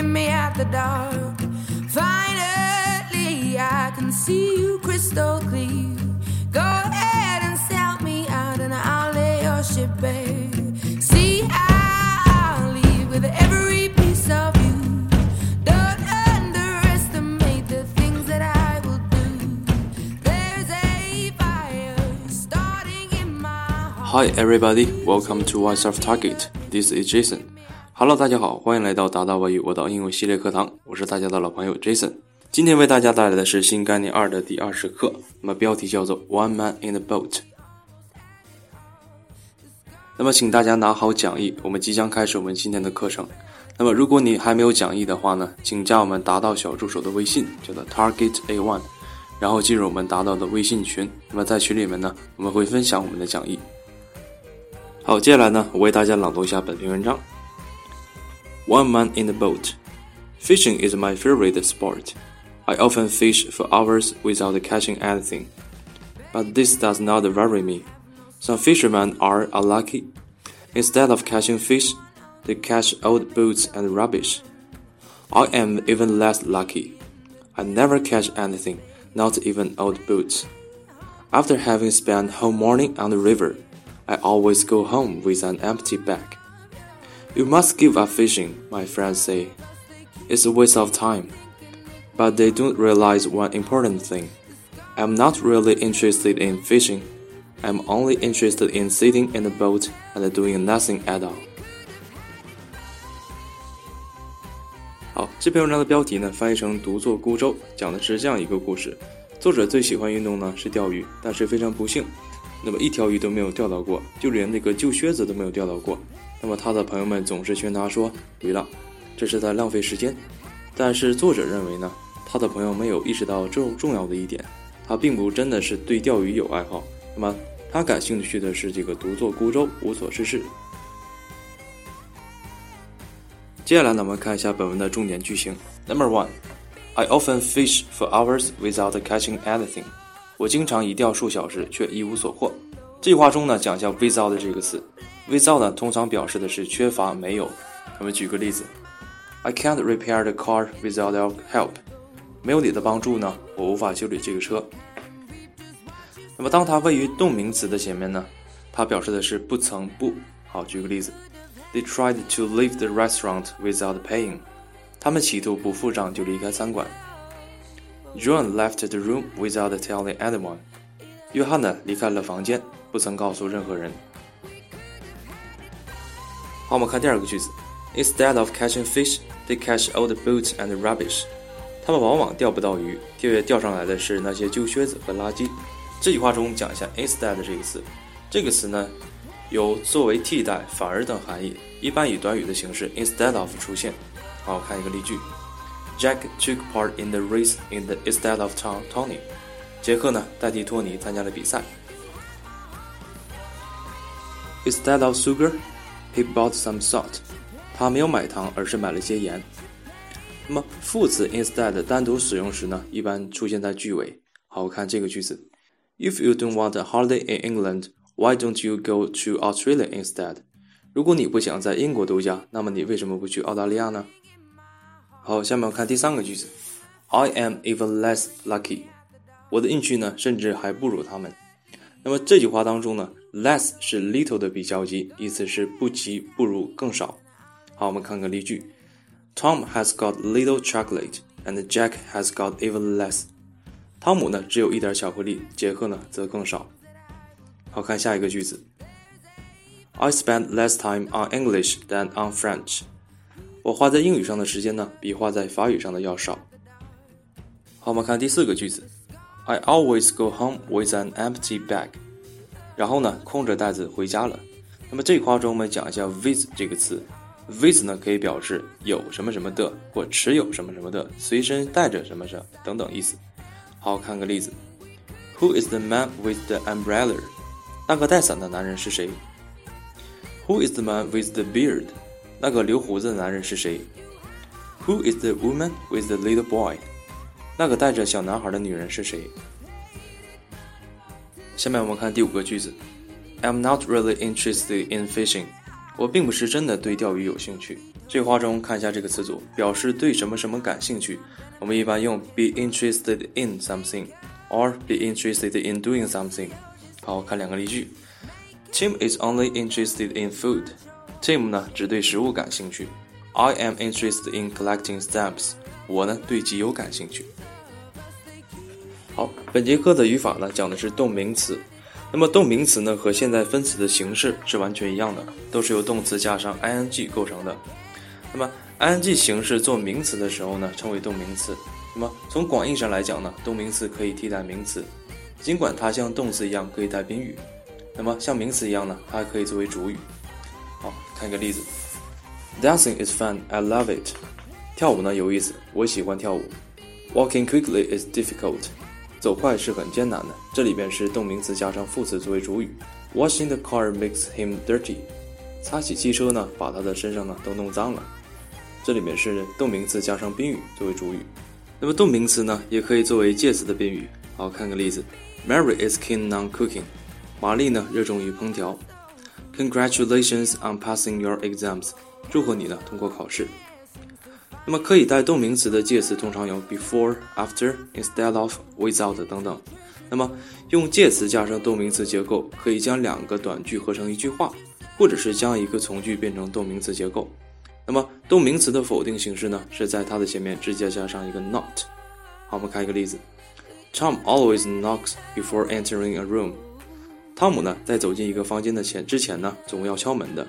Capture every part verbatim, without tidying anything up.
meet me at the dock. Finally, I can see you crystal clear. Go ahead and sell me out and I'll lay your ship bare. See, I'll leave with every piece of you. Don't underestimate the things that I will do. There's a fire starting in my heart. Hi everybody, welcome to Voice of Target. This is Jason.Hello， 大家好，欢迎来到达达外语我岛英文系列课堂，我是大家的老朋友 Jason。今天为大家带来的是新概念二的第二十课，那么标题叫做 One Man in the Boat。那么请大家拿好讲义，我们即将开始我们今天的课程。那么如果你还没有讲义的话呢，请加我们达到小助手的微信，叫做 Target A 一， 然后进入我们达到的微信群。那么在群里面呢，我们会分享我们的讲义。好，接下来呢，我为大家朗读一下本篇文章。One man in the boat. Fishing is my favorite sport. I often fish for hours without catching anything. But this does not worry me. Some fishermen are unlucky. Instead of catching fish, they catch old boats and rubbish. I am even less lucky. I never catch anything, not even old boats. After having spent whole morning on the river, I always go home with an empty bag.You must give up fishing, my friends say. It's a waste of time. But they don't realize one important thing. I'm not really interested in fishing. I'm only interested in sitting in the boat and doing nothing at all. 好，这篇文章的标题呢，翻译成独坐孤舟，讲的是这样一个故事。作者最喜欢运动呢是钓鱼，但是非常不幸，那么一条鱼都没有钓到过，就连那个旧靴子都没有钓到过。那么他的朋友们总是劝他说，对了，这是在浪费时间。但是作者认为呢，他的朋友没有意识到这重要的一点，他并不真的是对钓鱼有爱好，那么他感兴趣的是这个独坐孤舟，无所事事。接下来呢，我们看一下本文的重点句型。Number one, I often fish for hours without catching anything. 我经常一钓数小时却一无所获。这句话中呢，讲一下 without 这个词。without 呢，通常表示的是缺乏、没有。我们举个例子 I can't repair the car without your help. 没有你的帮助呢，我无法修理这个车。那么当它位于动名词的前面呢，它表示的是不曾不。好，举个例子 They tried to leave the restaurant without paying. 他们企图不付账就离开餐馆。John left the room without telling anyone. 约翰呢，离开了房间，不曾告诉任何人。好，我们看第二个句子 Instead of catching fish, they catch old boats and rubbish. 他们往往钓不到鱼，钓钓上来的是那些旧靴子和垃圾。这句话中讲一下 instead 这个词，这个词呢有作为替代、反而等含义，一般以短语的形式 instead of 出现。好，我看一个例句 Jack took part in the race in the instead of Tony. 杰克呢代替托尼参加了比赛。Instead of sugar,He bought some salt. 他没有买糖，而是买了些盐。那么副词 instead 单独使用时呢，一般出现在句尾。好，我看这个句子 If you don't want a holiday in England, why don't you go to Australia instead? 如果你不想在英国度假，那么你为什么不去澳大利亚呢？好，下面我看第三个句子 I am even less lucky. 我的运气呢，甚至还不如他们。那么这句话当中呢，less 是 little 的比较级，意思是不及、不如、更少。好，我们看个例句 Tom has got little chocolate and Jack has got even less. 汤姆呢只有一点巧克力，杰克呢则更少。好，看下一个句子 I spend less time on English than on French. 我花在英语上的时间呢，比花在法语上的要少。好，我们看第四个句子I always go home with an empty bag. 然后呢，空着袋子回家了。那么这一话中我们讲一下 with 这个词 with 呢可以表示有什么什么的，或持有什么什么的，随身带着什么什么等等意思。好，看个例子 Who is the man with the umbrella? 那个带伞的男人是谁？ Who is the man with the beard? 那个留胡子的男人是谁？ Who is the woman with the little boy?那个带着小男孩的女人是谁？下面我们看第五个句子 I'm not really interested in fishing. 我并不是真的对钓鱼有兴趣。这话中看一下这个词组，表示对什么什么感兴趣，我们一般用 be interested in something or be interested in doing something。 好，看两个例句。 Tim is only interested in food. Tim 呢只对食物感兴趣。 I am interested in collecting stamps. 我呢对集邮感兴趣。好，本节课的语法呢讲的是动名词。那么动名词呢和现在分词的形式是完全一样的，都是由动词加上 ing 构成的。那么 ing 形式做名词的时候呢称为动名词。那么从广义上来讲呢，动名词可以替代名词，尽管它像动词一样可以带宾语，那么像名词一样呢它还可以作为主语。好，看一个例子。 Dancing is fun, I love it. 跳舞呢有意思，我喜欢跳舞。 Walking quickly is difficult. 走快是很艰难的，这里边是动名词加上副词作为主语。 Washing the car makes him dirty. 擦洗汽车呢把他的身上呢都弄脏了，这里面是动名词加上宾语作为主语。那么动名词呢也可以作为介词的宾语。好，看个例子。 Mary is keen on cooking. 玛丽呢热衷于烹调。 Congratulations on passing your exams. 祝贺你呢通过考试。那么可以带动名词的介词通常有 before, after, instead of, without 等等。那么用介词加上动名词结构，可以将两个短句合成一句话，或者是将一个从句变成动名词结构。那么动名词的否定形式呢是在它的前面直接加上一个 not。 好，我们看一个例子。 Tom always knocks before entering a room. 汤姆呢在走进一个房间的前之前呢总要敲门的。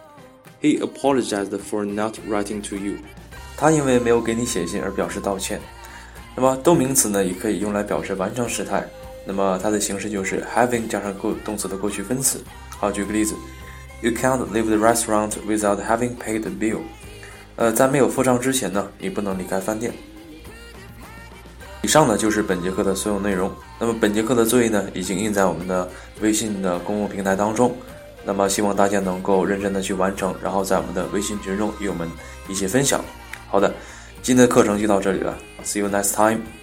He apologized for not writing to you. 他因为没有给你写信而表示道歉。那么动名词呢也可以用来表示完成时态，那么它的形式就是 having 加上动词的过去分词。好，举个例子。 You can't leave the restaurant without having paid the bill. 呃，在没有付账之前呢你不能离开饭店。以上呢就是本节课的所有内容。那么本节课的作业呢已经印在我们的微信的公共平台当中，那么希望大家能够认真的去完成，然后在我们的微信群中与我们一起分享。好的，今天的课程就到这里了， See you next time.